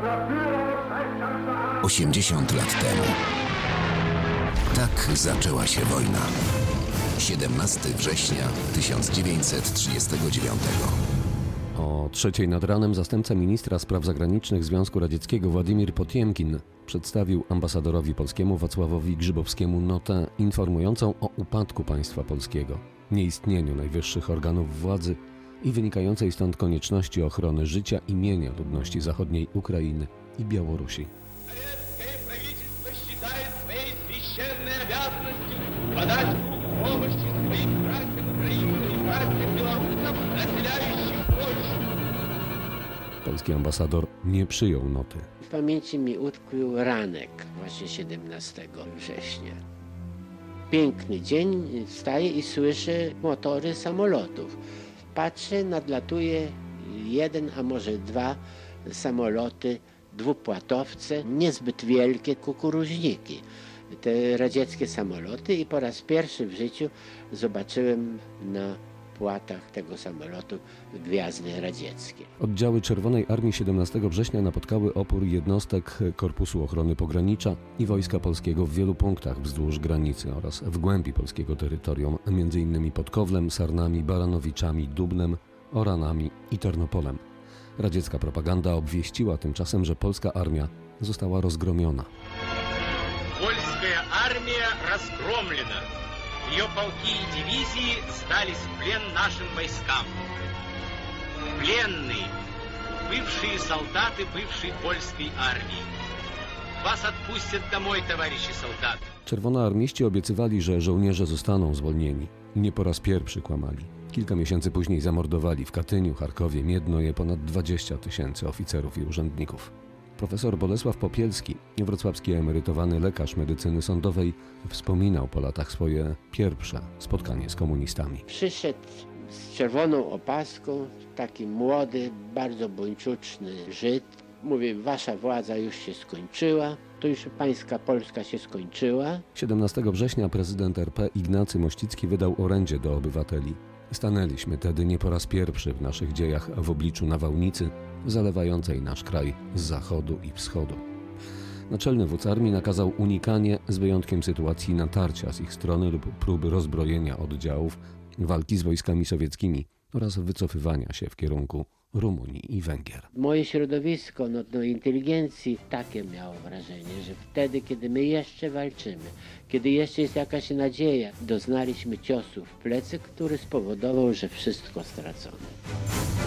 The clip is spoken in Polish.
80 lat temu. Tak zaczęła się wojna. 17 września 1939. O 3:00 nad ranem zastępca ministra spraw zagranicznych Związku Radzieckiego Władimir Potiemkin przedstawił ambasadorowi polskiemu Wacławowi Grzybowskiemu notę informującą o upadku państwa polskiego, nieistnieniu najwyższych organów władzy i wynikającej stąd konieczności ochrony życia i mienia ludności zachodniej Ukrainy i Białorusi. Polski ambasador nie przyjął noty. W pamięci mi utkwił ranek właśnie 17 września. Piękny dzień, wstaję i słyszę motory samolotów. Patrzę, nadlatuje jeden, a może dwa samoloty, dwupłatowce, niezbyt wielkie kukuruźniki. Te radzieckie samoloty i po raz pierwszy w życiu zobaczyłem na płatach tego samolotu gwiazdy radzieckie. Oddziały Czerwonej Armii 17 września napotkały opór jednostek Korpusu Ochrony Pogranicza i Wojska Polskiego w wielu punktach wzdłuż granicy oraz w głębi polskiego terytorium, m.in. pod Kowlem, Sarnami, Baranowiczami, Dubnem, Oranami i Tarnopolem. Radziecka propaganda obwieściła tymczasem, że polska armia została rozgromiona. Польская армия разгромлена. Ее полки и дивизии сдались в плен нашим войскам. Пленные, бывшие солдаты бывшей польской армии. Вас отпустят домой, товарищи солдаты. Czerwonoarmiści obiecywali, że żołnierze zostaną zwolnieni. Nie po raz pierwszy kłamali. Kilka miesięcy później zamordowali w Katyniu, Charkowie, Miednoje ponad 20 000 oficerów i urzędników. Profesor Bolesław Popielski, wrocławski emerytowany lekarz medycyny sądowej, wspominał po latach swoje pierwsze spotkanie z komunistami. Przyszedł z czerwoną opaską, taki młody, bardzo buńczuczny Żyd. Mówi, wasza władza już się skończyła, to już pańska Polska się skończyła. 17 września prezydent RP Ignacy Mościcki wydał orędzie do obywateli. Stanęliśmy tedy nie po raz pierwszy w naszych dziejach w obliczu nawałnicy zalewającej nasz kraj z zachodu i wschodu. Naczelny wódz armii nakazał unikanie, z wyjątkiem sytuacji natarcia z ich strony lub próby rozbrojenia oddziałów, walki z wojskami sowieckimi oraz wycofywania się w kierunku Rumunii i Węgier. Moje środowisko, inteligencji, takie miało wrażenie, że wtedy, kiedy my jeszcze walczymy, kiedy jeszcze jest jakaś nadzieja, doznaliśmy ciosu w plecy, który spowodował, że wszystko stracone.